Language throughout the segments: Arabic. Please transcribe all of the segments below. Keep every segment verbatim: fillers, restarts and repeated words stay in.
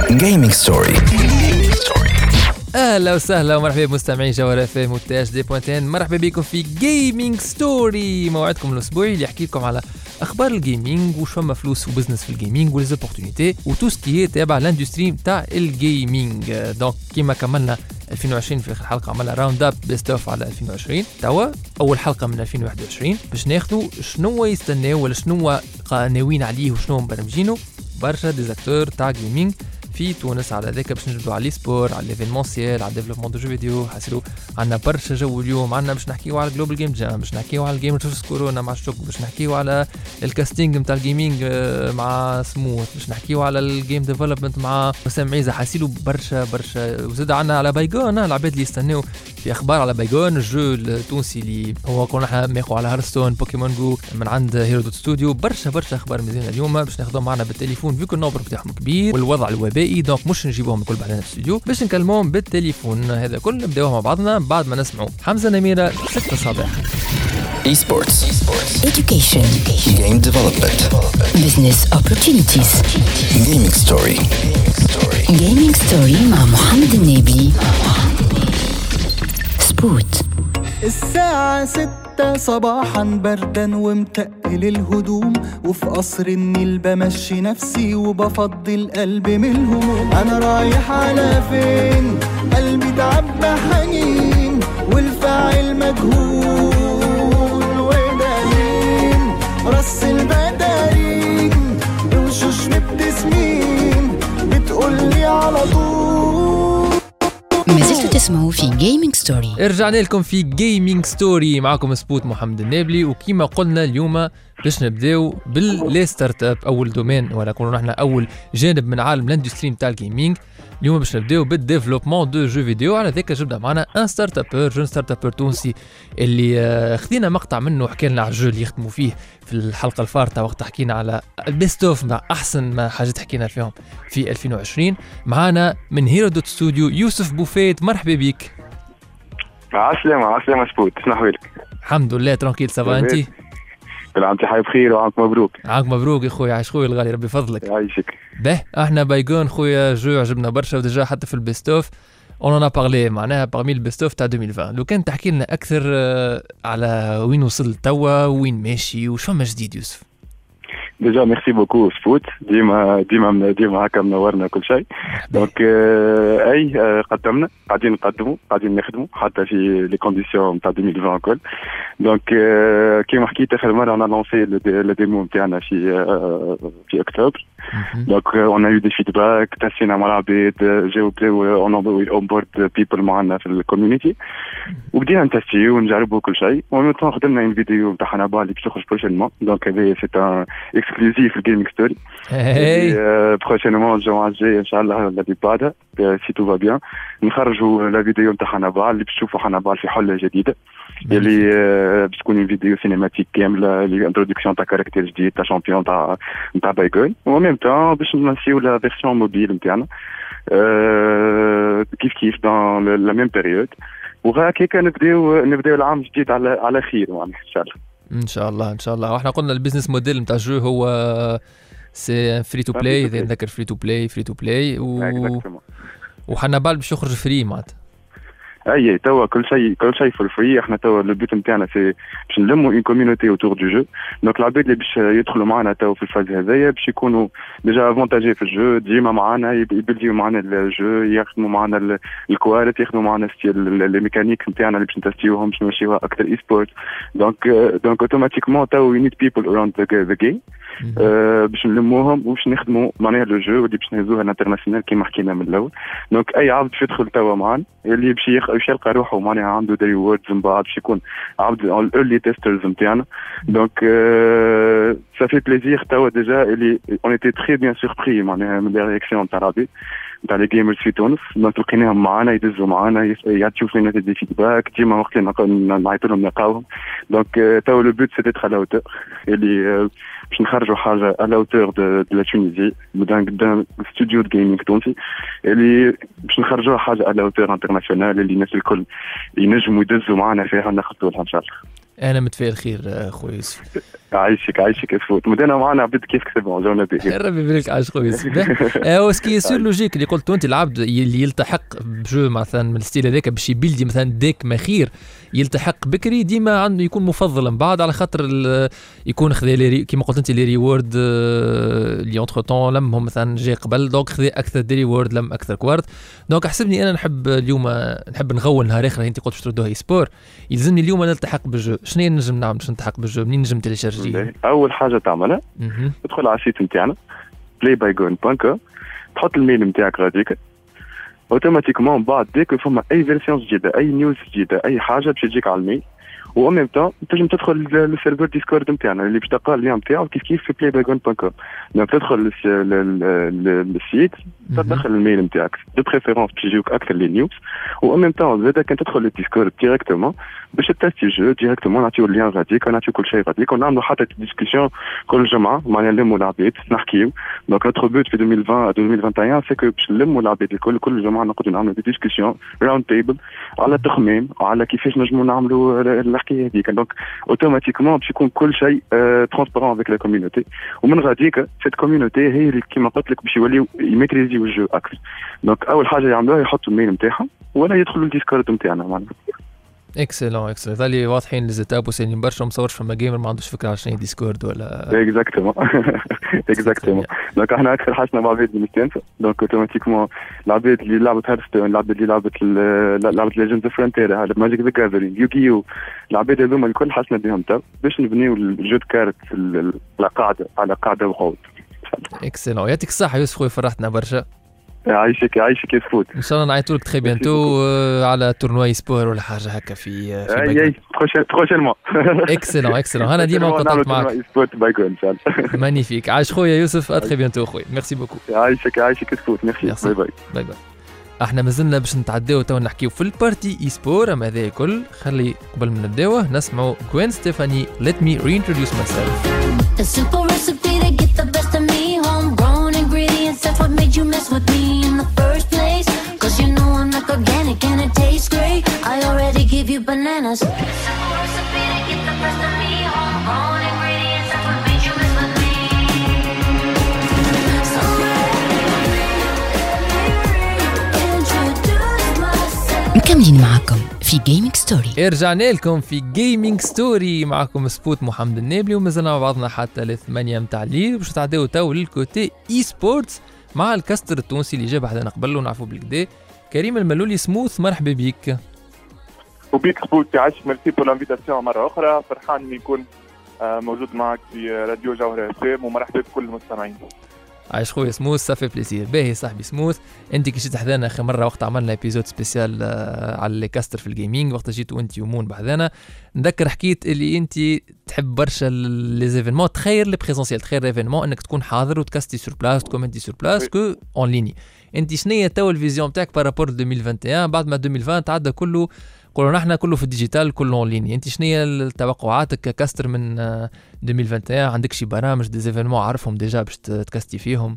Gaming Story. اهلا وسهلا ومرحبا بمستمعين جوهر اف ام وتي اش دي بوينتين. مرحبا بكم في جيمنج ستوري، موعدكم الاسبوعي اللي يحكي لكم على اخبار الجيمنج وش فما فلوس وبزنس في الجيمنج وليزوبورتونيتي وتو سكي تابع لاندستري تاع الجيمنج. دونك كيما كملنا ألفين وعشرين في اخر حلقه عملنا راوند اب بيست اوف على ألفين وعشرين، توا اول حلقه من ألفين وواحد وعشرين باش ناخذوا شنو يستناو ولا شنو ناويين عليه وشنو مبرمجينه برشا ديزاكتور تاع جيمنج في تونس. على ذاك باش نجبدوا على السبور، على ليفينمونسيال، على ديفلوبمون دو جو فيديو. حاسلوا عندنا برشا جو اليوم. عندنا باش نحكيو على جلوبال جيم جام، باش نحكيو على الجيم ريسورس كورونا مع الشوك، باش نحكيو على الكاستينج نتاع الجيمنج مع سموث، باش نحكيو على الجيم ديفلوبمنت مع وسام عيزه. حاسلوا برشا برشا. وزاد عندنا على بايغون العباد اللي يستناو في اخبار على بايغون الجو التونسي اللي هو كنا احنا ماخو على هارستون بوكيمون جو من عند هيرو دوت ستوديو. برشا برشا اخبار مزيانه اليوم باش ناخذهم معنا بالتليفون فيكم النوبر بتاعهم كبير والوضع الوبائي، دونك مش نجيبوهم الكل بعدين في الاستوديو باش نكلموهم بالتليفون. هذا كل نبداوه مع بعضنا بعد ما نسمعوا حمزه نميره ستة صباح. Esports, Education, game development, business opportunities. gaming story. Gaming Story مع محمد النبي. سبوت. الساعة ستة صباحا بردا ومتقل الهدوم، وفي قصر النيل بمشي نفسي وبفضل قلبي من الهموم. أنا رايح على فين؟ قلبي تعبى حنين والفاعل مجهول، وده مين؟ رص البدارين بوشوش مبتسمين بتقولي على طول. ما زلتوا تسمعوا في جيمنج ستوري. رجعنا لكم في جيمنج ستوري، معكم سبوت محمد النابلي. وكيما قلنا اليوم باش نبداو باللي ستارت اب، اول دومين ولا كنا نحن اول جانب من عالم الاندستري نتاع الجيمنج. اليوم باش نبداو بالديفلوبمون دو جو فيديو. على ذاك جبنا معنا ان ستارت ابر جون ستارت ابر تونسي اللي خذينا مقطع منه وحكى لنا على الجو اللي يخدموا فيه في الحلقه الفارطه وقت حكينا على البيست اوف مع احسن ما حاجات حكينا فيهم في ألفين وعشرين. معنا من هيرو دوت ستوديو يوسف بوفيت. مرحبا بك. عسلامة عسلامة سبوت، شنو أحوالك؟ الحمد لله ترانكيل. سافا انتي؟ بالعام تحية بخير وعامك مبروك. عامك مبروك يا خويا، عايش خويا الغالي ربي فضلك. يعيشك. به احنا بايغون خويا جو عجبنا برشا وديجا حتى في البيستوف اون انا بارلي معناها باغمي البيستوف تاع ألفين وعشرين. لو كان تحكي لنا اكثر على وين وصل توا وين ماشي وش فما جديد يوسف؟ ديجا ميرسي بوكو سبوت، ديما ديما ديما هكا منورنا كل شيء. دونك آه اي آه قدمنا قاعدين نقدموا قاعدين نخدموا حتى في لي كونديسيون نتاع ألفين وعشرين الكل. دونك آه كيما حكيت اخر مره انا لونسي لو ديمو نتاعنا في آه في اكتوبر. دونك اون ايو دي فيدباك، تسينا مع العباد، جاو بداو اون بورد بيبل معنا في الكوميونيتي وبدينا نتستيو ونجربوا كل شيء. ومن ثم خدمنا ان فيديو نتاع حنابال اللي باش تخرج بروشينمون. دونك هذا سي ان اكسكلوزيف في الجيمنج ستوري. بروشينمون الجمعه الجايه ان شاء الله الذي بعدها سي تو فا بيان نخرجوا لا فيديو نتاع حنابال اللي باش تشوفوا حنابال في حله جديده اللي باش تكون فيديو سينماتيك كامله اللي انتروداكسيون تاع كاركتير جديد تاع شامبيون تاع نتاع بايغون. وميم تاع باش نمشيو لا فيرسيون موبيل نتاعنا كيف كيف دون لا ميم بيريود. وهكاك نبداو نبداو العام الجديد على على خير معناها ان شاء الله. ان شاء الله ان شاء الله. واحنا قلنا البيزنس موديل نتاع الجو هو سي فري تو بلاي، اذا نذكر فري تو بلاي فري تو بلاي و وحنابال باش يخرج فري معناتها. اي توا كل شيء كل شيء في الفري. احنا توا البيت نتاعنا سي باش نلموا اون كوميونيتي اوتور دو جو. دونك العباد اللي باش يدخلوا معنا توا في الفاز هذايا باش يكونوا ديجا افونتاجي في الجو، ديما معنا يبلديو معنا الجو، يخدموا معنا الكواليتي، يخدموا معنا لي ميكانيك نتاعنا اللي باش نتستيوهم باش نمشيوها اكثر اي سبورت. دونك دونك اوتوماتيكمون توا وي نيد بيبل اراوند ذا جيم باش نلموهم وباش نخدموا معناها لو جو اللي باش نهزوها الانترناسيونال كيما حكينا من الاول. دونك اي عبد باش يدخل توا معنا اللي باش باش يلقى روحه معناها عنده دي ووردز من بعد باش يكون عبد الايرلي تيسترز نتاعنا. دونك سا في بليزير توا ديجا اللي اون ايتي تري بيان سوربري معناها من لي رياكسيون تاع العباد تاع لي جيمرز في تونس. دونك لقيناهم معنا يدزوا معنا يعطيو فينا دي فيدباك ديما وقت اللي نعيطوا لهم نلقاوهم. دونك توا لو بوت سيتي على اوتور اللي باش نخرجوا حاجه على اوتور دو لا تونيزي دان ستوديو جيمنج تونسي اللي باش نخرجوها حاجه على اوتور انترناسيونال اللي الناس الكل ينجموا يدزوا معنا فيها ناخذوا لها ان شاء الله. انا متفائل خير خويا يوسف. عايشك عايشك اسفوت مدينا معنا عبد كيف كسبوا جونا به. ربي يبارك عايش خويا يوسف. او سكي سور لوجيك اللي قلت انت العبد اللي يلتحق بجو مثلا من الستيل هذاك باش يبيلدي مثلا ديك مخير يلتحق بكري ديما عنده يكون مفضل من بعد على خاطر يكون خذا لي كيما قلت انت لي ريورد اللي اونتر طون لمهم مثلا جاي قبل دونك خذا اكثر دي ريورد لم اكثر كوارت. دونك حسبني انا نحب اليوم نحب نغول نهار اخر انت قلت باش تردوها اي سبور يلزمني اليوم نلتحق بالجو. شنو نجم نعمل باش نلتحق بالجو؟ منين نجم تيليشارجي؟ اول حاجه تعملها تدخل على السيت نتاعنا بلاي باي جون دوت كوم تحط الميل نتاعك غاديك اوتوماتيكمون بعد ديك فما اي فيرسيون جديده اي نيوز جديده اي حاجه باش تجيك على الميل. و ميم طون تنجم تدخل للسيرفر ديسكورد نتاعنا اللي باش تلقى اللين نتاعو كيف كيف في بلاي باي جون دوت كوم. دونك تدخل للسيت تدخل الميل نتاعك دو بريفيرونس باش يجيوك اكثر لي نيوز. و ميم طون زاد كان تدخل للديسكورد ديريكتومون باش تستي جو ديريكتومون نعطيو اللين غاديك ونعطيو كل شيء غاديك ونعملوا حتى ديسكسيون كل جمعه معناها نلموا العباد نحكيو. دونك نوتر بوت في ألفين وعشرين ألفين وواحد وعشرين سي كو باش نلموا العباد الكل كل جمعه نقعدوا نعملوا دي ديسكسيون راوند تيبل على التخميم وعلى كيفاش نجموا نعملوا الحكايه هذيك. دونك اوتوماتيكمون باش يكون كل شيء ترونسبارون افيك لا كوميونيتي ومن غاديك سيت كوميونيتي هي اللي كيما قلت لك باش يوليو يميتريزيو الجو اكثر. دونك اول حاجه يعملوها يحطوا الميل نتاعهم ولا يدخلوا الديسكورد نتاعنا معناها. اكسلون اكسلون ظلي واضحين لزيتاب وسالين برشا مصورش فما جيمر ما عندوش فكره على شنو ديسكورد ولا اكزاكتومون اكزاكتومون. دونك احنا اكثر حاجه مع عباد مستانسه. دونك اوتوماتيكمون العباد اللي لعبت هارستون العباد اللي لعبت لعبت ليجندز اوف فرونتير هذا ماجيك ذا جاذرينغ يوغيو العباد هذوما الكل حسنا بهم تو باش نبنيو الجو كارت على قاعده على قاعده وقود. اكسلون يعطيك الصحه يوسف خويا فرحتنا برشا. عايشك عايشك يسفوت ان شاء الله نعيطوا لك تري بيانتو على تورنواي سبور ولا حاجه هكا في في اي بروشينمون. اكسلون اكسلون انا ديما كونتاكت معك سبورت باي جون ان شاء الله. مانيفيك عايش خويا يوسف اتري بيانتو خويا ميرسي بوكو. عايشك عايشك يسفوت ميرسي باي باي باي باي. احنا مازلنا باش نتعداو تو نحكيو في البارتي اي سبور اما هذا كل خلي قبل ما نبداوه نسمعوا جوين ستيفاني let me reintroduce myself. A simple recipe to get the best of me, homegrown ingredients, that's what made you mess with me in the first place. Cause you know I'm like organic and it tastes great, I already give you bananas. A simple recipe to get the best of me, homegrown ingredients, that's what made you mess with me. So introduce myself. مكملين معكم في جيمنج ستوري. رجعنا لكم في جيمنج ستوري معكم سبوت محمد النابلي ومازلنا مع بعضنا حتى لثمانية متاع الليل باش نتعداو تو للكوتي اي سبورتس مع الكاستر التونسي اللي جاب حدانا قبل ونعرفوا بالكدا كريم الملولي سموث. مرحبا بيك. وبيك سبوت عايشك ميرسي بور لانفيتاسيون مره اخرى. فرحان اني نكون موجود معك في راديو جوهره اف ام ومرحبا بكل المستمعين. عايش خويا سموث صافي بليزير. باهي صاحبي سموث انت كي جيت حدانا اخر مره وقت عملنا ايبيزود سبيسيال على لي كاستر في الجيمنج وقت جيت وانت ومون بحذانا نذكر حكيت اللي انت تحب برشا لي زيفينمون تخير لي بريزونسيال تخير ايفينمون انك تكون حاضر وتكاستي سور بلاس تكومنتي سور بلاس كو اون ليني. انت شنية تو الفيزيون تاعك بارابور ألفين وواحد وعشرين بعد ما ألفين وعشرين تعدى كله قولوا نحن كله في الديجيتال كله اون ليني. انت شنية توقعاتك ككاستر من ألفين وواحد وعشرين؟ عندك شي برامج دي زيفينمون عارفهم ديجا باش تكاستي فيهم؟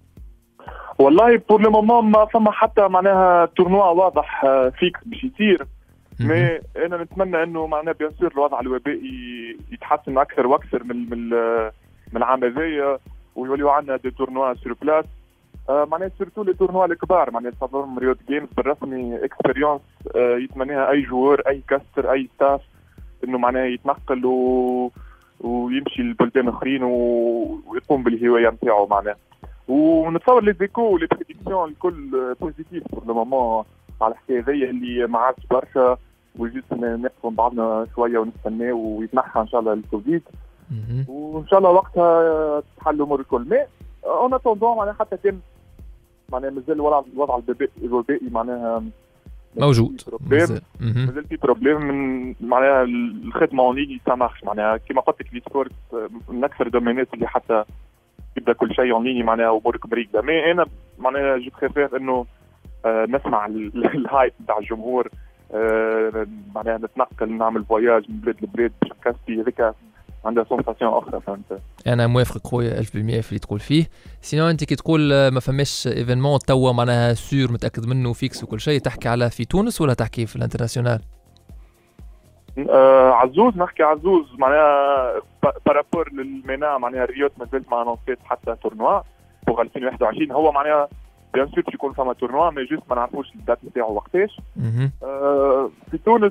والله بور لو مومون ما فما حتى معناها تورنوا واضح فيكس باش يصير مي انا نتمنى انه معناها بيان سور الوضع الوبائي يتحسن اكثر واكثر من من من العام هذايا ويوليو عندنا دي تورنوا سور بلاس معناها سيرتو لي تورنوا الكبار معناها تصورهم ريوت جيمز بالرسمي اكسبيريونس يتمناها اي جوار اي كاستر اي ستاف انه معناها يتنقل و... ويمشي لبلدان اخرين و... ويقوم بالهوايه نتاعو معناها. ونتصور لي زيكو لي بريديكسيون الكل بوزيتيف بور لو مومون على الحكايه هذيا اللي ما عادش برشا وجيت نقفوا بعضنا شويه ونستناو ويتنحى ان شاء الله الكوفيد وان شاء الله وقتها تحل الامور الكل. مي اون اتوندون معناها حتى كان معناها مازال الوضع الوضع الوبائي معناها موجود مازال مازال في بروبليم من معناها الخدمه اون ليني سامحش معناها كيما قلت لك لي سبورت من اكثر الدومينات اللي حتى يبدا كل شيء اون ليني معناها امورك مريقه. مي انا معناها جو بريفير انه آه نسمع الهايب تاع الجمهور آه معناها نتنقل نعمل فواياج من بلاد لبلاد باش نكاستي هذيك عندها سونساسيون اخرى فهمت. انا موافق خويا ألف بالمئة في اللي تقول فيه. سينو انت كي تقول ما فماش ايفينمون توا معناها سور متاكد منه فيكس وكل شيء تحكي على في تونس ولا تحكي في الانترناسيونال؟ آه عزوز نحكي عزوز معناها بارابور للمينا معناها ريوت مازالت مع نونسيت حتى تورنوا بوغ ألفين وواحد وعشرين. هو معناها بيان سور يكون فما تورنوا مي جوست ما نعرفوش الدات نتاعو وقتاش. آه في تونس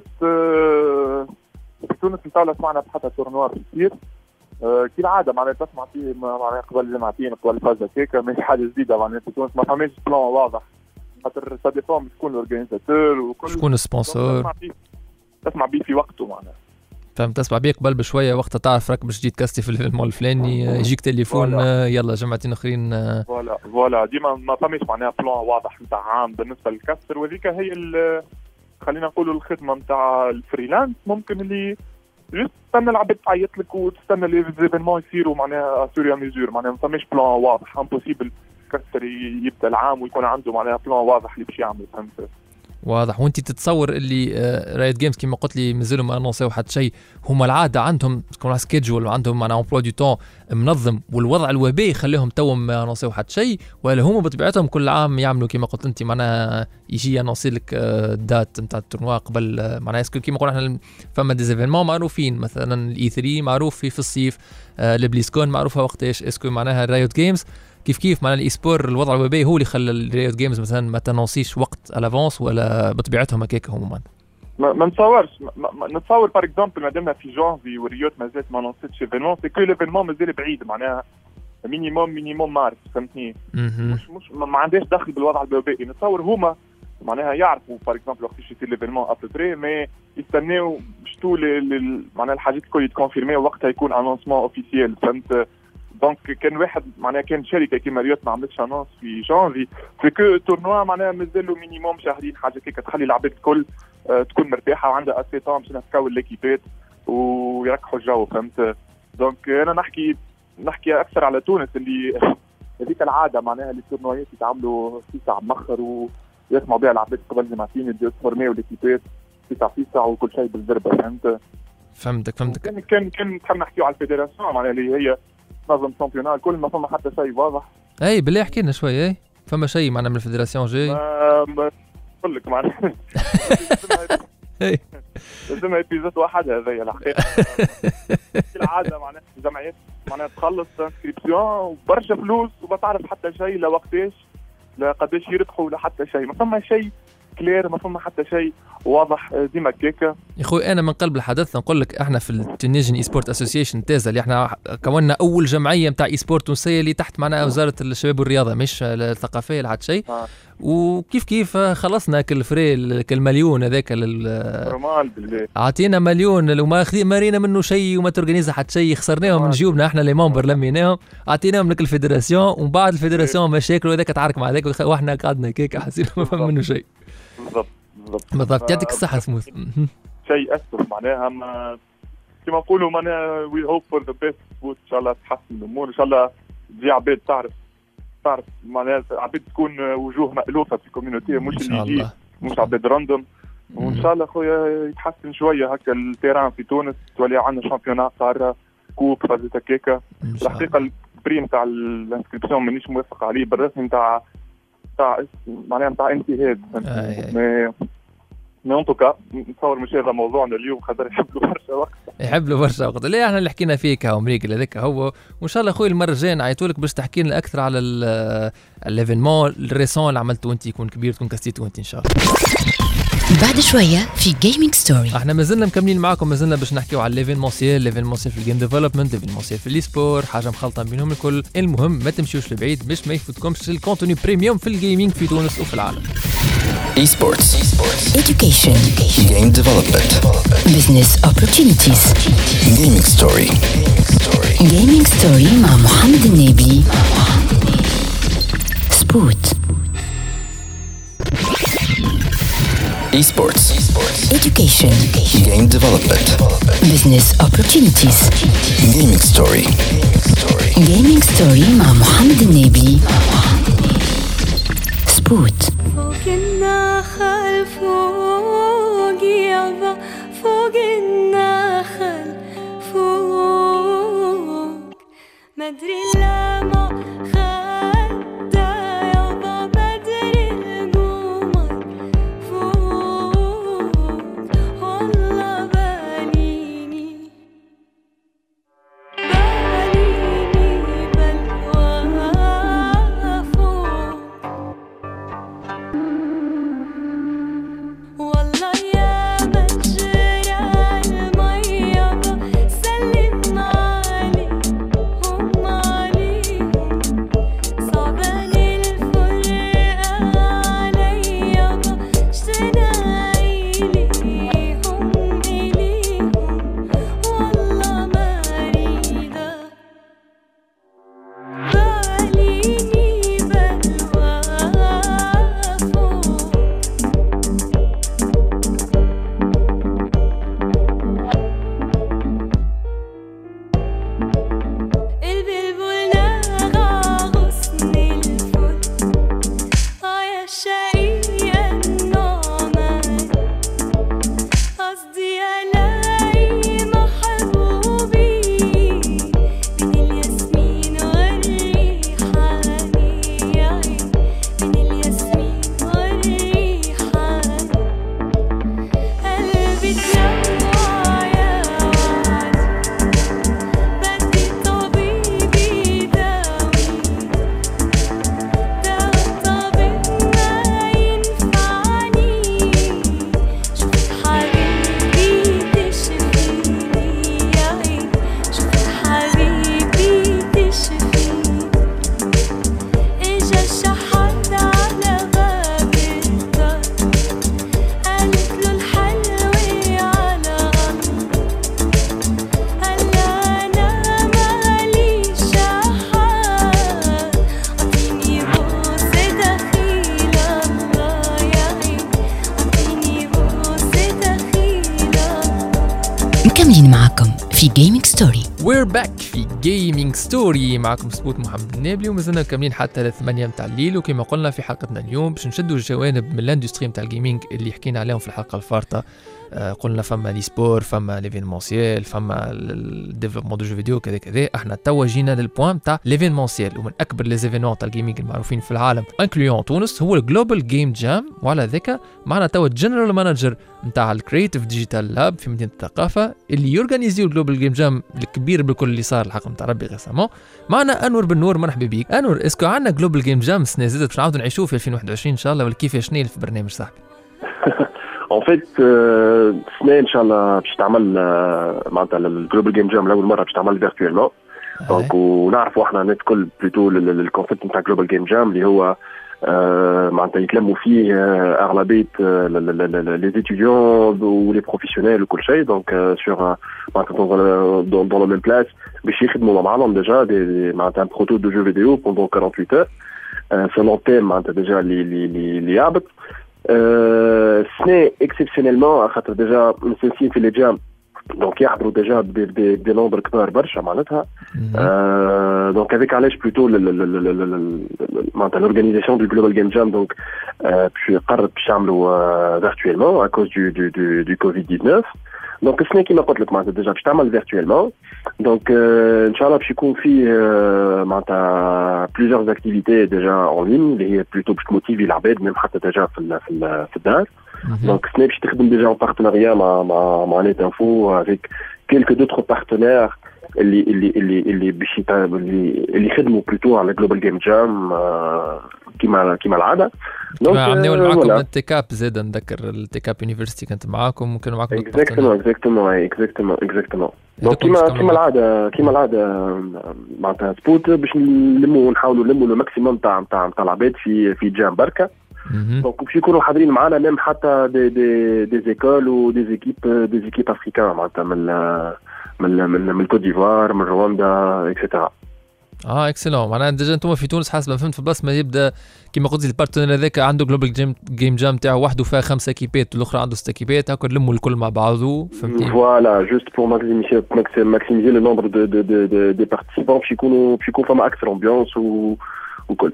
آه في تونس نتاولا سمعنا حتى تورنوا بيصير آه كي العاده معناها تسمع فيه معناها قبل جمعتين قبل فازا كيكا مش حاجه جديده معناها في تونس ما فماش بلان واضح خاطر سا ديفون شكون الاورجانيزاتور وكل شكون السبونسور تسمع بيه في وقته معناها. فهمت. تسمع بيه قبل بشويه وقتها تعرف راك باش تجي تكستي في المول الفلاني يجيك تليفون يلا جمعتين اخرين فوالا فوالا ديما ما فماش معناها بلان واضح نتاع عام بالنسبه للكاستر. وذيك هي خلينا نقولوا الخدمه نتاع الفريلانس ممكن اللي جست تستنى العباد تعيط لك وتستنى لي زيفينمون يصيروا معناها سوريا ميزور معناها ما فماش بلان واضح امبوسيبل كاستر يبدا العام ويكون عنده معناها بلان واضح اللي باش يعمل. فهمت واضح. وانت تتصور اللي رايت جيمز كما قلت لي مازالوا ما انونسيو حتى شيء، هما العاده عندهم تكون سكيدجول وعندهم معنا امبلوا دو تون منظم، والوضع الوبائي يخليهم توهم ما انونسيو حتى شيء، ولا هما بطبيعتهم كل عام يعملوا كما قلت انت معناها يجي انونسي لك الدات نتاع التورنوا قبل معناها اسكو كما قلنا احنا فما دي زيفينمون معروفين مثلا الاي ثري معروف في في الصيف، البليسكون معروفه وقتاش، اسكو معناها رايوت جيمز كيف كيف معناها الاي سبور الوضع الوبائي هو اللي خلى الريوت جيمز مثلا ما تنونسيش وقت الافونس، ولا بطبيعتهم هكاك هما ما, ما نتصورش ما, ما نتصور باغ اكزومبل مادامنا في جانفي والريوت مازالت ما نونسيتش ايفينمون سي كو ليفينمون مازال بعيد معناها مينيموم مينيموم مارس فهمتني. مش مش ما عندهاش دخل بالوضع الوبائي. نتصور هما معناها يعرفوا باغ اكزومبل وقتاش يصير ليفينمون ابري مي يستناو باش تو معناها الحاجات الكل يتكونفيرمي وقتها يكون انونسمون اوفيسيال. فهمت دونك كان واحد معناها كان شركه كيما ريوت ما عملتش انونس في جانفي في كو تورنوا معناها مازالوا مينيموم شهرين حاجه كيك تخلي العباد الكل آه تكون مرتاحه وعندها اسي طون باش تكون ليكيبات ويركحوا الجو. فهمت دونك انا نحكي نحكي اكثر على تونس اللي هذيك العاده معناها اللي التورنوات يتعاملوا في ساعه مخر ويسمعوا بها العباد قبل جمعتين يبداو يتفورميو ليكيبات في ساعه في ساعه وكل شيء بالزربه. فهمت فهمتك فهمتك كان كان كان نحب نحكيو على الفيدراسيون معناها اللي هي نظم شامبيونال كل ما فما حتى شيء واضح. اي بالله احكي لنا شويه. اي فما شيء معنا من الفيدراسيون جاي نقول لك معناها اي لازم ايبيزود واحد هذايا الحقيقه العاده معناها الجمعيات معناها تخلص انسكريبسيون وبرشا فلوس وما تعرف حتى شيء لا وقتاش لا قداش يربحوا ولا حتى شيء، ما فما شيء كلير، ما فما حتى شيء واضح ديما كيكا. يا خوي انا من قلب الحدث نقول لك احنا في التونيجن اي سبورت اسوسيشن تازا اللي احنا كونا اول جمعيه نتاع اي سبورت تونسيه اللي تحت معنا وزاره الشباب والرياضه مش الثقافيه لا حتى شيء. آه. وكيف كيف خلصنا كل فري كل مليون هذاك نورمال بالله عطينا مليون وما مارينا منه شيء وما تورغانيزا حتى شيء، خسرناهم من جيوبنا احنا لي ممبر لميناهم عطيناهم لك الفيدراسيون ومن بعد الفيدراسيون مشاكل وهذاك تعارك مع هذاك واحنا قعدنا كيك حسينا ما فهم منه شيء. بالضبط بالضبط بالضبط يعطيك الصحة سموث. شيء أسف معناها ما كما نقولوا معناها وي هوب فور ذا بيست ان شاء الله تحسن الأمور، ان شاء الله تجي عباد تعرف تعرف معناها عباد تكون وجوه مألوفة في الكوميونيتي مش اللي يجي مش عباد راندوم، وإن شاء الله خويا يتحسن شوية هكا التيران في تونس تولي عندنا شامبيونات قارة كوب فازت هكاكا. الحقيقة البري نتاع الانسكريبسيون مانيش موافق عليه بالرسمي نتاع نتاع معناها نتاع انتهاد مي مي انطوكا نتصور مش هذا موضوعنا اليوم خاطر يحب له برشا وقت يحب له برشا وقت اللي احنا اللي حكينا فيه كهو مريقل هذاك هو، وان شاء الله اخوي المره الجايه نعيطوا لك باش تحكي لنا اكثر على الايفينمون الريسون اللي عملته انت يكون كبير تكون كاستيتو انت ان شاء الله. بعد شويه في جيمنج ستوري احنا مازلنا مكملين معاكم، مازلنا باش نحكيو على ليفينمونسيال ليفينمونسيال في الجيم ديفلوبمنت ليفينمونسيال في الاي حاجه مخلطه بينهم الكل. المهم ما تمشيوش لبعيد باش ما يفوتكمش الكونتوني بريميوم في الجيمنج في تونس وفي العالم. Esports, education, game development, business opportunities, gaming story. gaming story مع محمد النبي. سبوت Esports, education, game development, business opportunities, gaming story. gaming story مع محمد النبي. سبوت فوق النخل فوق يابا فوق النخل فوق مدري لما خدى يابا بدري القمر فوق والله في جيمنج ستوري. We're back في جيمنج ستوري، معكم سبوت محمد النابلي، ومازلنا كاملين حتى لثمانية متاع الليل. وكما قلنا في حلقتنا اليوم باش نشدوا الجوانب من الاندستري متاع الجيمنج اللي حكينا عليهم في الحلقه الفارطه. آه قلنا فما لي سبور، فما ليفينمونسيال، فما الديفلوبمون دو جو فيديو كذا كذا. احنا توا جينا للبوان تاع ليفينمونسيال، ومن اكبر لي زيفينمون تاع الجيمنج المعروفين في العالم انكليون تونس هو الجلوبال جيم جام. وعلى ذاك معنا توا الجنرال مانجر نتاع الكرييتيف ديجيتال لاب في مدينه الثقافه اللي يورغانيزيو الجلوبال جيم جام الكبير بالكل اللي صار الحق نتاع ربي غسامون. معنا انور بن نور، مرحبا بك انور. اسكو عندنا جلوبال جيم جام السنه زادت باش نعاودوا نعيشوه في ألفين وواحد وعشرين ان شاء الله، ولا كيفاش نيل في برنامج صاحبي؟ En fait, السنة إن شاء الله باش تعمل معناتها الجلوبال جيم جام لأول مرة باش تعمل فيرتوالمون. دونك ونعرفوا احنا الناس الكل بلوتو الكونسيبت نتاع جلوبال جيم جام اللي هو معناتها يتلموا فيه أغلبية لي étudiants ولي بروفيسيونيل وكل شيء. دونك سور معناتها دون دون لو ميم بلاس باش يخدموا مع بعضهم ديجا معناتها ان بروتو دو جو فيديو بوندون أربعة وأربعين heures سولون تيم معناتها ديجا اللي اللي اللي يهبط. السنة اكسبسيونيلمون خاطر ديجا مسنسين في لي جام دونك يحضروا ديجا دي نومبر كبار برشا معناتها. دونك هذيك علاش بلوتو معناتها لورغانيزاسيون دو جلوبال جيم جام دونك باش قررت باش يعملوا فيرتوالمون ا كوز دو دو دو دو كوفيد تسعطاش. دونك السنة كيما قلت لك معناتها ديجا باش تعمل فيرتوالمون. دونك ان شاء الله باش يكون فيه معناتها بليزيور اكتيفيتي ديجا اون لين اللي هي بلوتو باش تموتيفي العباد ميم حتى ديجا في في في الدار. دونك السنة باش تخدم ديجا اون بارتناريا مع مع مع نيت انفو افيك كيلكو دوطخ بارتنير اللي اللي اللي اللي باش اللي اللي يخدموا بلوتو على جلوبال جيم جام كيما كيما العاده. دونك عملوا معاكم التيكاب زاد نذكر التيكاب يونيفرسيتي كانت معاكم وكانوا معاكم اكزاكتومون اكزاكتومون اكزاكتومون اكزاكتومون. دونك كيما كيما العاده كيما العاده معناتها سبوت باش نلموا ونحاولوا نلموا لو ماكسيموم تاع تاع تاع العباد في في جام بركه. دونك باش يكونوا حاضرين معنا ميم حتى دي دي دي زيكول ودي زيكيب دي زيكيب افريكان معناتها من من من من الكوت ديفوار من رواندا اكسترا. اه اكسلون. معناها ديجا انتم في تونس حسب ما فهمت في بلاصه ما يبدا كيما قلت البارتنر هذاك عنده جلوبال جيم جيم جام تاعو وحده فيها خمسه كيبات والاخرى عنده ست كيبات هكا نلموا الكل مع بعضه فهمتي. فوالا جوست بور ماكسيميزي ماكسيميزي لو نومبر دو دو دو دي بارتيسيبون باش يكونوا باش يكون فما اكثر امبيونس وكل.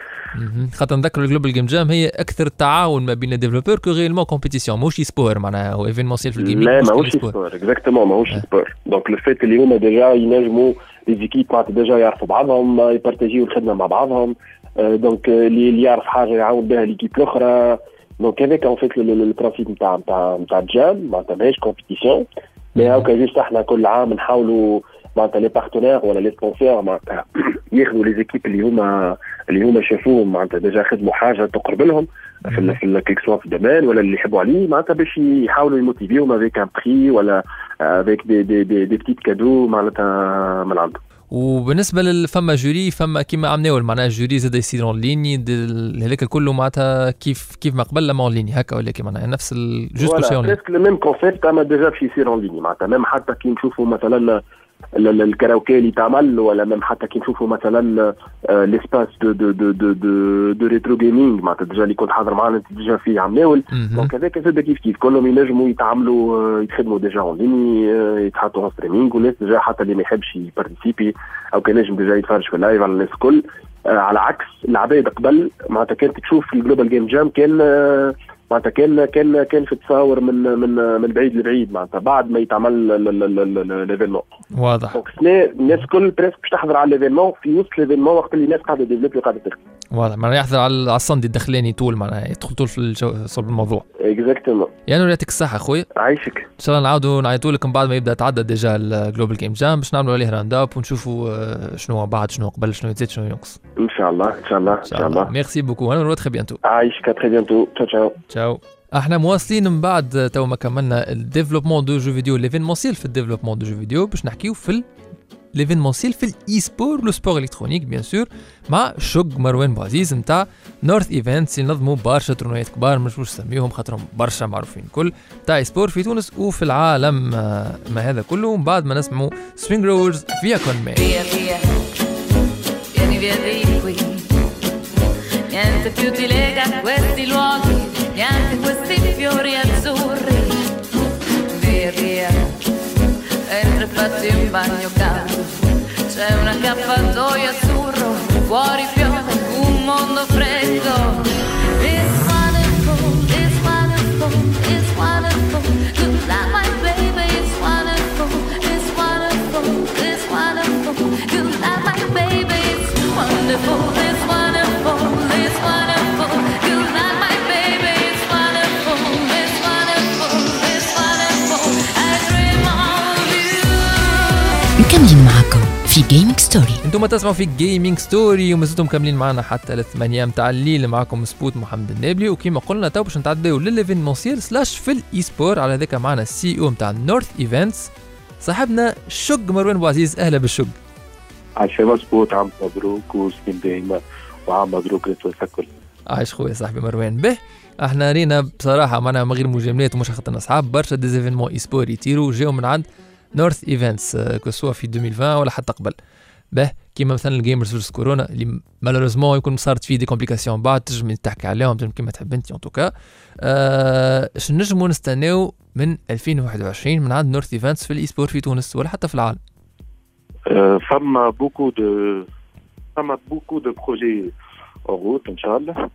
خاطر نذكر الجلوبال جيم جام هي اكثر تعاون ما بين الديفلوبور كو غيرمون كومبيتيسيون ماهوش سبور معناها هو ايفينمونسيال في الجيمنج. لا ماهوش سبور اكزاكتومون ماهوش سبور. دونك لو فيت اللي هما ديجا ينجموا لي زيكيب معناتها ديجا يعرفوا بعضهم يبارتاجيو الخدمه مع بعضهم. دونك اللي يعرف حاجه يعاون بها ليكيب الاخرى. دونك هذاك ان فيت البرانسيب نتاع نتاع نتاع الجام معناتها ماهيش كومبيتيسيون مي هاكا جوست احنا كل عام نحاولوا معناتها لي بارتنير ولا لي سبونسور معناتها ياخذوا لي زيكيب اللي هما اللي هما شافوهم معناتها ديجا خدموا حاجه تقرب لهم في في كيك سوا في الدومين ولا اللي يحبوا عليه معناتها باش يحاولوا يموتيفيوهم افيك ان بري ولا افيك دي دي دي دي بتيت كادو معناتها من عندهم. وبالنسبه للفما جوري فما كيما عملناو معناها الجوري زاد يصير اون ليني هذاك كله معناتها كيف كيف ما قبل لما اون ليني هكا ولا كيما معناها نفس جوست كل شيء اون ليني. بريسك لو ميم كونسيبت اما ديجا باش يصير اون ليني معناتها ميم حتى كي نشوفوا مثلا الكاراوكي اللي تعمل ولا ميم حتى كي نشوفوا مثلا ليسباس دو دو دو دو دو, دو ريترو جيمنج معناتها ديجا اللي كنت حاضر معنا انت ديجا فيه عمناول. دونك هذاك زاد كيف كيف كلهم ينجموا يتعاملوا يتخدموا ديجا اون ليني يتحطوا اون ستريمينغ والناس ديجا حتى اللي ما يحبش يبارتيسيبي او كان نجم ديجا يتفرج في اللايف على الناس الكل. على عكس العباد قبل معناتها كانت تشوف الجلوبال جيم جام كان معناتها كان كان كان في التصاور من من من بعيد لبعيد معناتها بعد ما يتعمل ليفينمون. واضح. دونك الناس الكل بريسك باش تحضر على ليفينمون في وسط ليفينمون وقت اللي الناس قاعده ديفلوبي وقاعده تخدم. واضح. معناها يحضر على الصندي الدخلاني طول معناها يدخل طول في صلب الموضوع. اكزاكتومون. يعني يعطيك الصحه خويا. عايشك. ان شاء الله نعاودوا نعيطوا لك من بعد ما يبدا تعدى ديجا الجلوبال جيم جام باش نعملوا عليه راند اب ونشوفوا شنو بعد شنو قبل شنو يزيد شنو ينقص. ان شاء الله ان شاء الله ان شاء الله. ميرسي بوكو انا نروح تري بيانتو. عايشك تري بيانتو. تشاو تشاو. تشاو. احنا مواصلين من بعد تو ما كملنا الديفلوبمون دو جو فيديو ليفينمونسيال في الديفلوبمون دو جو فيديو باش نحكيو في ليفينمونسيال في الاي سبور لو سبور الكترونيك بيان سور مع شوق مروان بوعزيز نتاع نورث ايفنتس ينظموا برشا تورنويات كبار مش واش نسميهم خاطرهم برشا معروفين كل تاع سبور في تونس وفي العالم. ما هذا كله ومن بعد ما نسمعوا سوينغ رولز فيا كون مي niente più ti lega a questi luoghi, neanche questi fiori azzurri. Via via, entra e fatti metterti in bagno caldo. C'è un accappatoio azzurro, fuori piove un mondo freddo. It's wonderful, it's wonderful, it's wonderful. Good night, my baby, it's wonderful, it's wonderful, it's wonderful. Good night, my baby, it's wonderful, it's wonderful, it's wonderful. Good night, my baby, it's wonderful, it's wonderful, it's wonderful. I dream of you. مكملين معكم في جيمنج ستوري. انتم تسمعوا في جيمنج ستوري وما زلتم مكملين معنا حتى الثمانية متاع الليل. معكم سبوت محمد النابلي، وكما قلنا تو باش نتعداو للإيفينمونسيال سلاش في الاي سبور. على ذاك معنا السي او متاع نورث ايفنتس صاحبنا شق مروان بوعزيز. اهلا بالشق. عايش مظبوط، عام مبروك وسنين دايما وعام مبروك للكل. عايش خويا صاحبي مروان. به احنا رينا بصراحه معنا من غير مجاملات ومش خاطرنا اصحاب برشا ديزيفينمون اي سبور يطيروا جاو من عند نورث ايفنتس كسوا في ألفين وعشرين ولا حتى قبل. به كيما مثلا الجيمرز فيرس كورونا اللي مالوريزمون يكون صارت فيه دي كومبليكاسيون بعد تنجم تحكي عليهم كيما تحب انت. ان توكا اش نجموا نستناو من ألفين وواحد وعشرين من عند نورث ايفنتس في الاي سبور في تونس ولا حتى في العالم؟ فما بوكو دو فما بوكو دو بروجي اون روت ان شاء الله.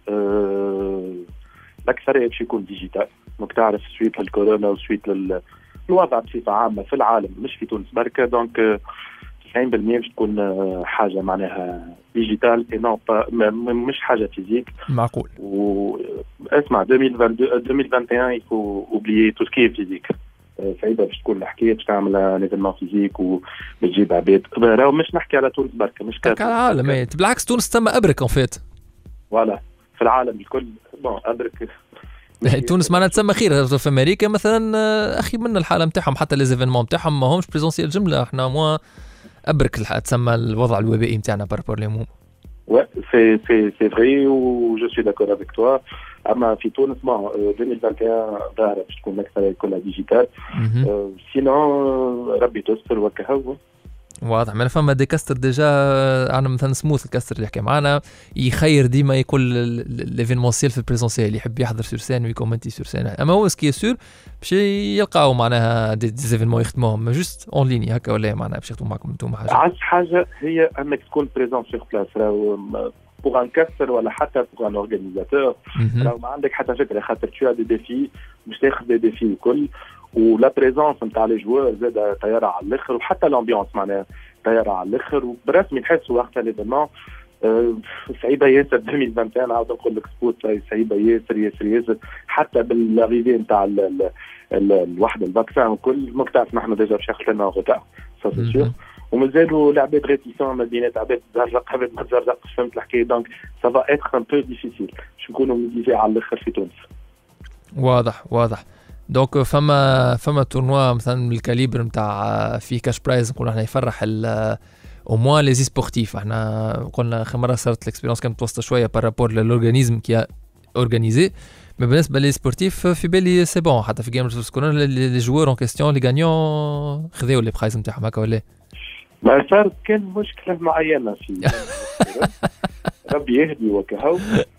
الاكثريه باش يكون ديجيتال. دونك تعرف سويت للكورونا وسويت للوضع بصفه عامه في العالم مش في تونس بركه. دونك تسعين بالمية باش تكون حاجه معناها ديجيتال اي نو مش حاجه فيزيك. معقول. واسمع ألفين وواحد وعشرين يفو اوبليي تو سكي فيزيك. سعيده باش تكون الحكايه باش تعمل نيفينمون فيزيك وبتجيب عباد. راهو مش نحكي على تونس بركه، مش كاع العالم. بالعكس تونس تم ابرك اون فيت. فوالا في العالم الكل. بون ابرك تونس معناتها تسمى خير. في امريكا مثلا اخي من الحاله نتاعهم حتى لي زيفينمون نتاعهم ما همش بريزونسيال جمله. احنا مو ابرك تسمى الوضع الوبائي نتاعنا بارابور لهم. Ouais, c'est c'est c'est vrai ou je suis d'accord avec toi. اما في تونس ما ألفين وواحد وعشرين ظاهره باش تكون اكثر كلها ديجيتال. سينو ربي تستر وكهو. واضح. ما فما دي كاستر ديجا. انا مثلا سموث الكاستر اللي يحكي معنا يخير ديما يكون ليفينمونسيال في البريزونسيال يحب يحضر سور سين ويكومنتي سور سين. اما هو سكي سور باش يلقاو معناها دي زيفينمون يخدموهم جوست اون ليني هكا ولا معناها باش يخدموا معكم انتم حاجه. عايز حاجه هي انك تكون بريزون سور بلاس. راهو بوغ ان كاستر ولا حتى بوغ ان اورغانيزاتور راهو ما عندك حتى فكره خاطر تو دي ديفي باش تاخذ دي ديفي الكل. ولا بريزونس نتاع لي جوار زاد طياره على الاخر وحتى الامبيونس معناها طياره على الاخر وبرسمي تحسوا وقتها ليفينمون. أه سعيده ياسر ألفين وواحد وعشرين. عاود نقول لك سبوت سعيده ياسر ياسر ياسر حتى بالاريفي نتاع الواحد الفاكسان وكل ما تعرف نحن ديجا باش ياخذ لنا غوتار سا سي سيغ. ومازالوا العباد ريتيسون ما بينات عباد تزرق عباد ما تزرقش. فهمت الحكايه. دونك سافا اتر ان بو ديفيسيل باش نكونوا ميزي على الاخر في تونس. واضح واضح. دونك فما فما تورنوا مثلا بالكاليبر نتاع فيه كاش برايز نقولوا احنا يفرح او موان لي سبورتيف. احنا قلنا اخر مره صارت الاكسبيريونس كانت متوسطه شويه بارابور للورغانيزم كي اورغانيزي. مي بالنسبه لي سبورتيف في بالي سي بون. حتى في جيمرز فيرس كورونا لي جوور اون كيستيون لي غانيون خذاو لي برايز نتاعهم هكا ولا ما صار. كان مشكله معينه في ربي يهدي وكهو.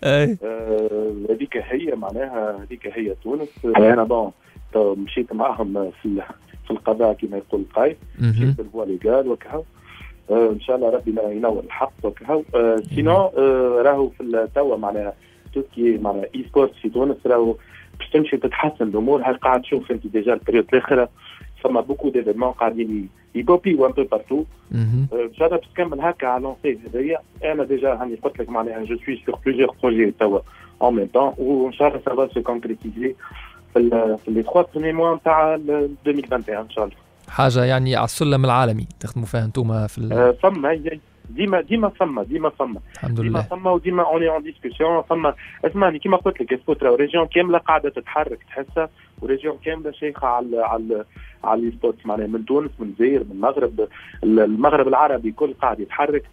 هذيك آه هي معناها هذيك هي تونس. انا بون مشيت معهم في في القضاء كما يقول القايد. مشيت بالفوا ليغال وكهو. آه ان شاء الله ربي ينور الحق وكهو. آه سينو آه راهو في التوا معناها توكي معناها اي سبورت في تونس راهو باش تمشي تتحسن الامور. هاي قاعد تشوف انت ديجا البريود الاخيره فما بوكو ديفينمون قاعدين يكوبي وان بو بارتو. ان شاء الله باش تكمل هكا على لونسي هذيا. انا ديجا هاني قلت لك معناها جو سوي سور بليزيور بروجي توا اون ميم طون وان شاء الله سا فا سو كونكريتيزي في في لي ثلاث بريمي موا نتاع ألفين وواحد وعشرين ان شاء الله. حاجه يعني على السلم العالمي تخدموا فيها انتم في ال... فما ديما ديما فما ديما فما الحمد لله. ديما فما وديما اوني اون ديسكسيون. فما اسمعني كيما قلت لك اسبوترا وريجيون كامله قاعده تتحرك تحسها. وريجيون كامله شيخه على على على لي سبورت معناها من تونس من الجزائر من المغرب. المغرب العربي كل قاعد يتحرك.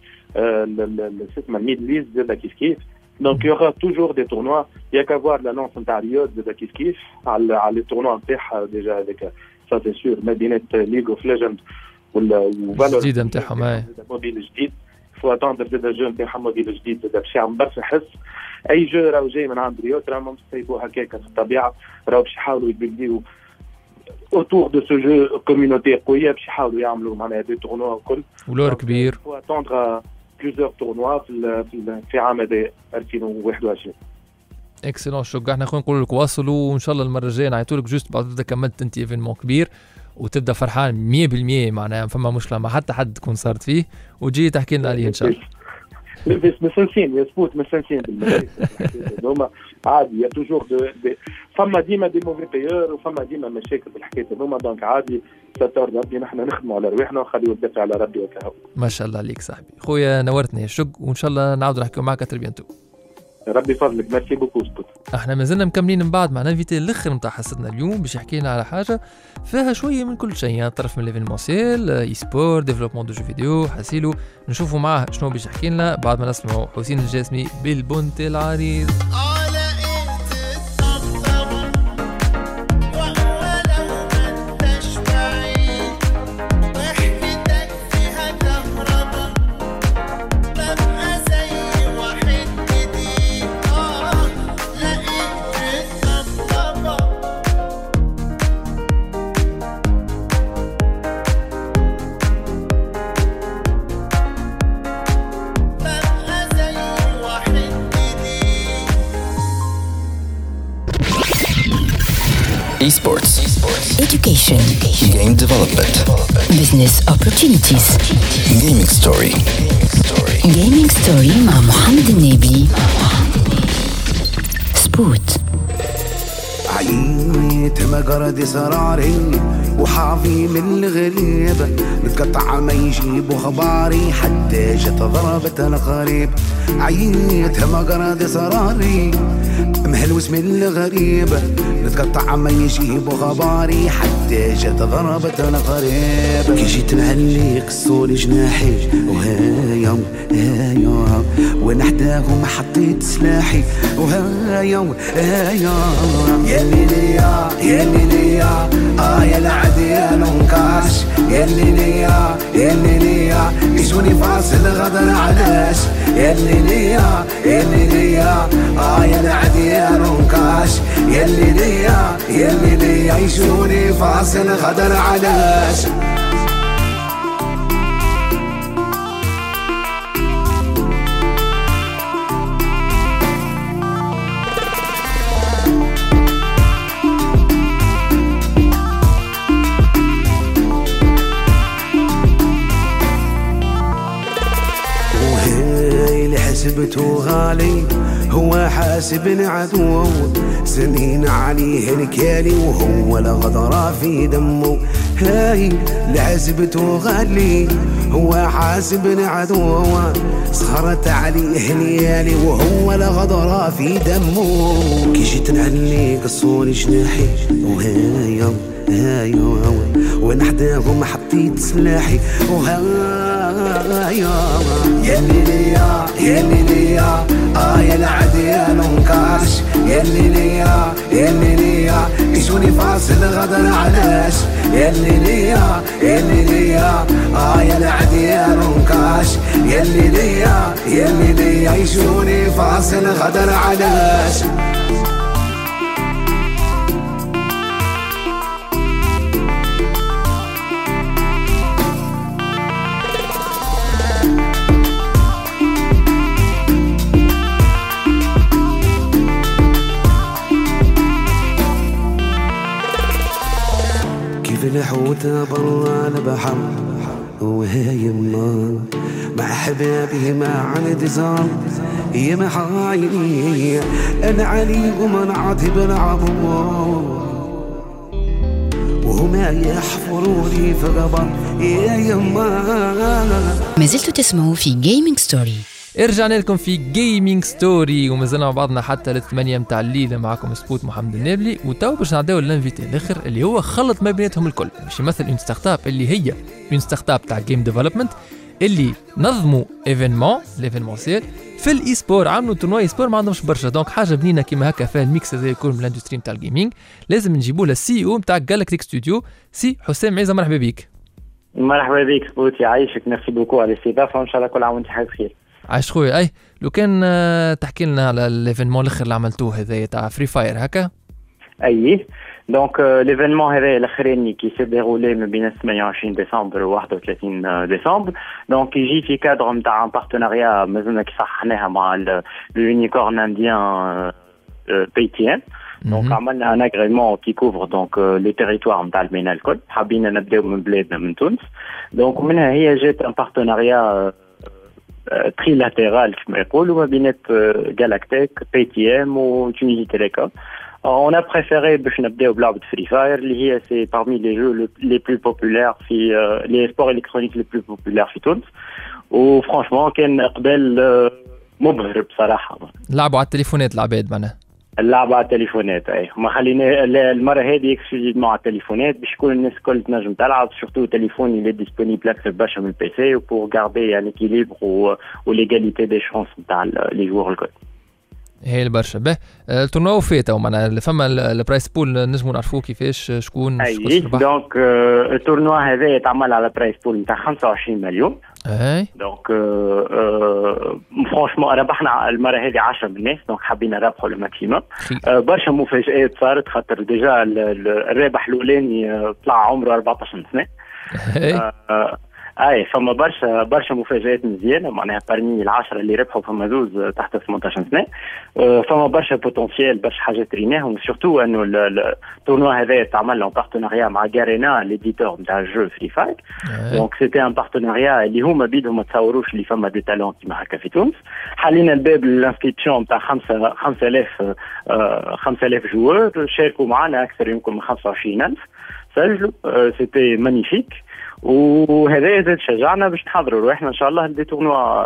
اسمها الميدل ايست زاد كيف كيف. دونك يوغا توجور دي تورنوا يا كافوار لانونس نتاع رياض زاد كيف كيف على على لي تورنوا نتاعها ديجا هذاك سا سي سور ما بينات ليغ اوف ليجند ولا الجديد نتاعهم. اي موديل جديد فوا تاندر زاد جو نتاعهم موديل جديد زاد باش يعمل برشا حس. اي جو راهو جاي من عند رياض راهم مستيبوا هكاك في الطبيعه راهو باش يحاولوا يبدلوا اوتور دو سو جو كوميونيتي قويه باش يحاولوا يعملوا معناها دي تورنوا الكل ولور كبير فو اتوندر بليزيور تورنوا في في في عام هذا ألفين وواحد وعشرين. اكسلون شكرا. احنا خلينا نقول لك واصلوا وان شاء الله المره الجايه نعيطوا لك جوست بعد تبدا كملت انت ايفينمون كبير وتبدا فرحان مية بالمية معناها فما مشكله مع حتى حد تكون صارت فيه وتجي تحكي لنا عليه ان شاء الله. بس مسنسين يا سبوت مسنسين هما عادي يا توجور فما ديما دي موفي بيور وفما ديما مشاكل بالحكايه هما دونك عادي ستار ربي نحن نخدموا على رواحنا ونخليو الدافع على ربي وكهو. ما شاء الله عليك صاحبي خويا نورتني شق وان شاء الله نعاود نحكيو معك تربيانتو. ربي فضلك ميرسي بوكو سبوت. احنا مازلنا مكملين من بعد مع انفيتي الاخر نتاع حصتنا اليوم باش يحكي لنا على حاجه فيها شويه من كل شيء يعني طرف من ليفينمونسيال اي سبور ديفلوبمون دو جو فيديو حاسيلو نشوفوا معاه شنو باش يحكي لنا بعد ما نسمعوا حسين الجاسمي بالبنت العريض. Esports. Education. Game development. Business opportunities. Gaming story. Gaming story مع محمد النبي. سبوت. عييت مقرد سراري وحافي من الغريب متقطع ما يجيبوا خباري حتى جت ضربت الغريب. عييت مقرد سراري مهلوس من الغريب نتقطع ما يجيبوا خباري حتى جت ضربت الغريب. كي جيت نهلي قصولي جناحي وهايا هايا ونحداهم حطيت سلاحي وهايا هايا يلي ليا يلي ليا اه يا العدي ننكاش يلي ليا يلي ليا يسوني فاصل غدر علاش يلي ليا يلي ليا اه يا العدي ننكاش يلي ليا يلي ليا يسوني فاصل غدر علاش. حسبته غالي هو حاسبني عدو سنين عليه الكالي وهو الغدرة في دمه. هاي لحسبته غالي هو حاسبني عدو صهرت عليه ليالي وهو الغدرة في دمه. كي جيت نعلي قصوني جناحي وهايا هايا ونحداهم حطيت سلاحي وهايا يلي ليا يلي ليا اه يا العدي ننكاش يلي ليا يلي ليا يسوني فاصل غدر علاش يلي ليا يلي ليا اه يا العدي ننكاش يلي ليا يلي ليا يسوني فاصل غدر علاش. الحوت برا البحر وهايما مع حبابي ما عندي زار يا محايني انا عليكم انا عاتب العبور وهما يحفروني في قبر يا يما. ما زلتوا تسمعوا في جيمنج ستوري. رجعنا لكم في جيمنج ستوري ومازلنا مع بعضنا حتى للثمانية متاع الليلة. معكم سبوت محمد النابلي وتو باش نعداو للانفيتي الاخر اللي هو خلط ما بيناتهم الكل باش يمثل اون ستارت اب اللي هي اون ستارت اب تاع جيم ديفلوبمنت اللي نظموا ايفينمون ليفينمونسيال في الاي سبور عملوا تورنوا اي سبور ما عندهمش برشا دونك حاجه بنينه كيما هكا فيها الميكس هذا يكون من الاندستري نتاع الجيمنج لازم نجيبوا له السي او نتاع جالاكتيك ستوديو سي حسام عيزه. مرحبا بك. مرحبا بك سبوت يعيشك ميرسي بوكو على الاستضافه وان شاء الله كل عام وانت بخير. عايش خويا. اي لو كان تحكي لنا على الايفينمون الاخر اللي عملتوه هذايا تاع فري فاير هكا. اي دونك ليفينمون هذا الاخراني كي سي ديرولي ما بين ثمانية وعشرين ديسمبر و واحد وثلاثين ديسمبر دونك يجي في كادر نتاع بارتناريا مازلنا كي صححناها مع اليونيكورن انديان بي تي ام. دونك عملنا ان اغريمون كي كوفر دونك لي تيريتوار نتاع المينا الكل. حابين نبداو من بلادنا من تونس. دونك منها هي جات ان بارتناريا تريلاتérال كما يقولوا ما بين جالاكتيك بي تي ام وتونيزي تيليكوم. On a préféré باش نبداو بلعبة فري فاير اللي هي سي parmi les jeux les plus populaires في les sports électroniques les plus populaires في تونس. وفرانشمون كان اقبال مبهر بصراحة. لعبوا على التليفونات العباد معناها. اللعبة على التليفونات اي ما خلينا المرة هذه اكسكلوزيفمون على التليفونات باش كل الناس الكل تنجم تلعب سورتو تليفون اللي ديسپونيبل اكثر برشا من البي سي وبور غاردي ان اكيليبر وليغاليتي دي شانس نتاع لي جوار الكل. هي برشا به التورنوا فات او معناها فما البرايس بول نجموا نعرفوا كيفاش شكون اي دونك التورنوا هذا يتعمل على برايس بول نتاع خمسة وعشرين مليون. اي دونك فرانشمون ربحنا المره هذه عشرة من الناس دونك حابين نربحوا الماكسيموم. برشا مفاجآت صارت خاطر ديجا الرابح الاولاني طلع عمره أربعطاش سنه. اي فما برشا برشا مفاجآت مزيانه معناها بارمي العشرة اللي ربحوا فما زوز تحت ثمانية عشر سنه. فما برشا بوتنسيال برشا حاجات ريناهم سورتو انه التورنوا هذا تعمل له بارتناريا مع غارينا ليديتور نتاع الجو فري فاير. دونك سيتي ان بارتناريا اللي هما بيدهم ما تصوروش اللي فما دي تالون كيما هكا في تونس. حلينا الباب للانسكريبسيون نتاع خمسة خمسة آلاف خمسة آلاف جوار شاركوا معنا اكثر يمكن من خمسة وعشرين ألف سجلوا. سيتي مانيفيك وهذا زاد شجعنا باش نحضروا روحنا ان شاء الله دي تورنوا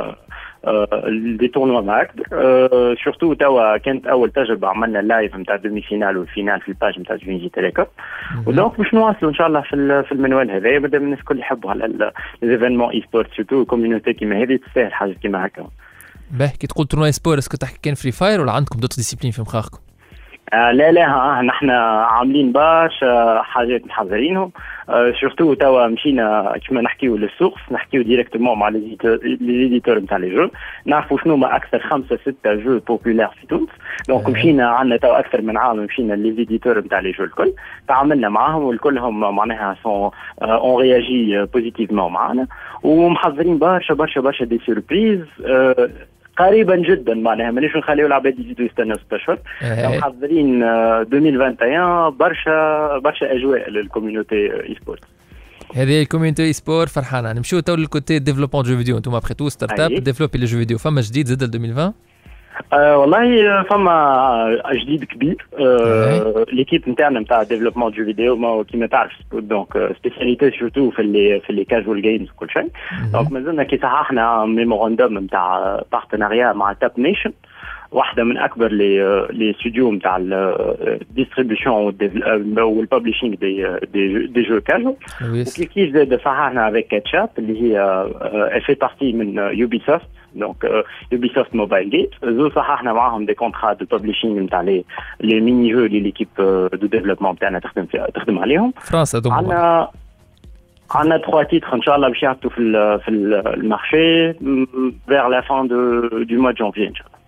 دي تورنوا معاك. سورتو توا كانت اول تجربه عملنا لايف نتاع دومي فينال والفينال في الباج نتاع تونيزي تيليكوم. ودونك باش نواصلوا ان شاء الله في في المنوال هذا مادام الناس الكل يحبوا على ليزيفينمون اي سبورت سورتو كوميونيتي كيما هذه تستاهل حاجه كيما هكا. باهي كي تقول تورنوا سبور اسكو تحكي كان فري فاير ولا عندكم دوت ديسيبلين في مخاخكم؟ آه لا لا آه نحن عاملين برشا حاجات محضرينهم. آه سورتو توا مشينا كما نحكيو للسوق نحكيو ديريكتومون مع لي زيديتور نتاع لي جو نعرفوا شنو ما اكثر خمسة ستة جو بوبولار في تونس. دونك مشينا عندنا توا اكثر من عام مشينا لي زيديتور نتاع لي جو الكل تعاملنا معاهم والكلهم معناها سون اون رياجي بوزيتيفمون معنا ومحضرين برشا برشا برشا دي سوربريز آه قريبا جدا معناها مانيش نخليو العباد يزيدوا يستناو ستة اشهر. محضرين ألفين وواحد وعشرين برشا برشا اجواء للكوميونيتي اي سبورت. هذه الكوميونيتي اي سبورت فرحانه. نمشيو تو للكوتي ديفلوبمون جو فيديو. انتم ابخي تو ستارت اب ديفلوبي لي جو فيديو فما جديد زاد ألفين وعشرين؟ أه والله فما جديد كبير. أه ليكيب نتاعنا نتاع ديفلوبمون جو فيديو ما كيما تعرف دونك سبيسياليتي سورتو في اللي في اللي كاجوال جيمز وكل شيء. دونك مازلنا كي صححنا ميموراندوم نتاع بارتناريا مع تاب نيشن واحدة من أكبر لي لي استوديو نتاع الديستريبيوشن والببليشينغ دي دي دي جو كاجوال. وكيف كيف زاد صححنا افيك كاتشاب اللي هي في بارتي من يوبي سوفت دونك يوبي سوفت موبايل جيت. زو صححنا معاهم دي كونترا دو ببليشينغ نتاع لي لي ميني جو اللي ليكيب دو ديفلوبمون تاعنا تخدم تخدم عليهم. فرنسا دوم عندنا عندنا trois titres ان شاء الله باش يهبطوا في في المارشي vers la fin de du mois de janvier ان شاء الله.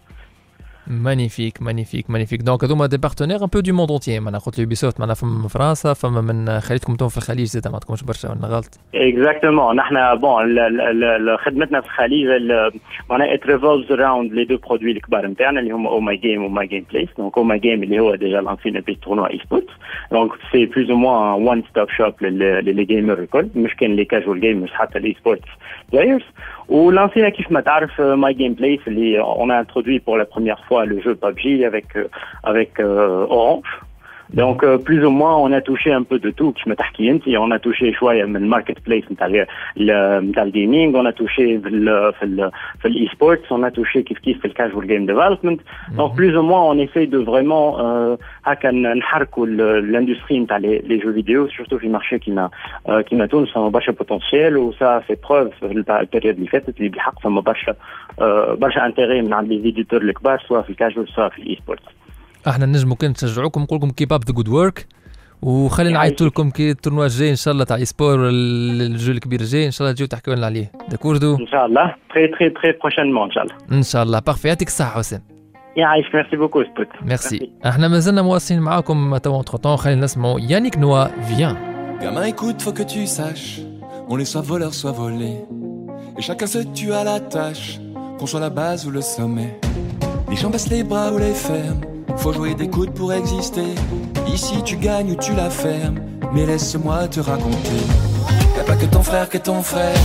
مانيفيك مانيفيك مانيفيك. دونك هذوما دي بارتنير ان بو دو موند اونتيي. معناها قلت لي بيسوفت معناها فما من فرنسا فما من خليتكم انتم في الخليج زاد ما عندكمش برشا ولا غلط؟ اكزاكتومون نحن بون خدمتنا في الخليج معناها ات ريفولفز اراوند لي دو برودوي الكبار نتاعنا اللي هما او ماي جيم و ماي جيم بليس. دونك او ماي جيم اللي هو ديجا لانسين بي تورنوا اي سبورت دونك سي بلوز او موان وان ستوب شوب للي جيمر الكل مش كان لي كاجوال جيمرز حتى لي سبورت بلايرز. ولانسينا كيف ما تعرف ماي جيم بليس اللي اون ا انترودوي بور لا بروميير فوا لو جو بابجي avec avec euh, Orange. Donc euh, plus ou moins on a touché un peu de tout كما تحكي انت. on a touché شويه من الماركت بليس نتاع نتاع الجيمنج on a touché في ال في ال في الاي سبورتس on a touché كيف كيف في الكاجوال جيم ديفلوبمنت. donc plus ou moins on essaye de vraiment هكا نحركوا الاندستري نتاع لي جو فيديو سورتو في مارشي كيما كيما تونس فما برشا بوتنسيال وسا سي بروف في البيريود اللي فاتت اللي بالحق فما برشا برشا انتيري من عند لي فيديتور الكبار سواء في الكاجوال سواء في الاي سبورتس. احنا نجمو كان نشجعوكم نقول لكم كيب اب ذا جود ورك وخلينا نعيطوا لكم كي التورنوا الجاي ان شاء الله تاع اي سبور الجو الكبير الجاي ان شاء الله تجيو تحكيو لنا عليه. داكوردو ان شاء الله تري تري تري بروشينمون ان شاء الله ان شاء الله. بارفي يعطيك الصحه حسين. يعيشك. ميرسي بوكو سبوت. ميرسي. احنا مازلنا مواصلين معاكم توا entre temps. خلينا نسمعوا يانيك نوا. Viens. Gamin, écoute, faut que tu saches, on est soit voleur, soit volé, et chacun se tue à la tâche, qu'on soit la base ou le sommet. Les gens baissent les bras ou les ferment, faut jouer des coudes pour exister. Ici tu gagnes ou tu la fermes, mais laisse-moi te raconter. Y'a pas que ton frère que ton frère.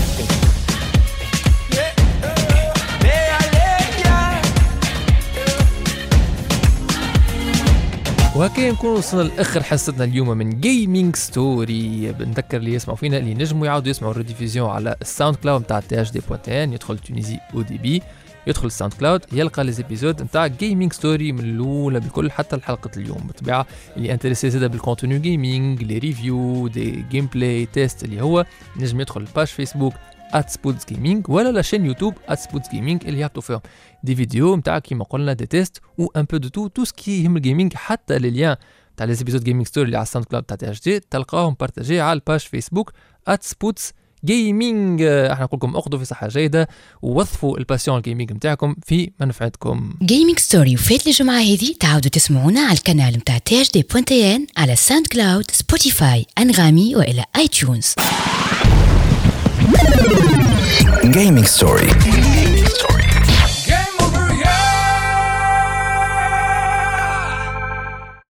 وهكذا نكون وصلنا لاخر حصتنا اليوم من جيمنج ستوري. بنذكر اللي يسمعوا فينا اللي نجموا يعاودوا يسمعوا الريديفيزيون على الساوند كلاود نتاع تي اش دي بوان تي ان. يدخل تونيزي او دي بي، يدخل الساوند كلاود، يلقى لي زيبيزود نتاع جيمنج ستوري من الاولى بالكل حتى الحلقه اليوم. بالطبيعه اللي انتريسي زاده بالكونتوني جيمنج، لي ريفيو، دي جيم بلاي تيست، اللي هو نجم يدخل الباج فيسبوك @سبوتس جيمنج ولا لا شين يوتيوب @سبوتس جيمنج اللي يعطوا فيهم دي فيديو نتاع كيما قلنا دي تيست و ان بو دو تو تو سكي يهم الجيمنج. حتى لي ليان تاع لي زيبيزود جيمنج ستوري اللي على الساوند كلاود تاع تي اش دي تلقاهم بارطاجي على الباج فيسبوك @سبوتس جيمنج. احنا نقول لكم اخذوا في صحه جيده ووظفوا الباسيون الجيمنج نتاعكم في منفعتكم. جيمنج ستوري وفات الجمعه هذه تعاودوا تسمعونا على القناه نتاع تي اش دي بوان تي ان على ساوند كلاود، سبوتيفاي، انغامي والى اي تيونز. Gaming Story.